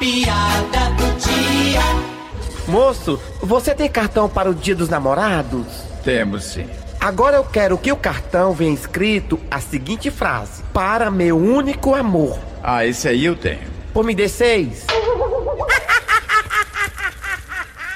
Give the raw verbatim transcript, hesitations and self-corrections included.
piada do dia. Moço, você tem cartão para o Dia dos Namorados? Temos sim. Agora eu quero que o cartão venha escrito a seguinte frase: para meu único amor. Ah, esse aí eu tenho. Pô, me dê seis.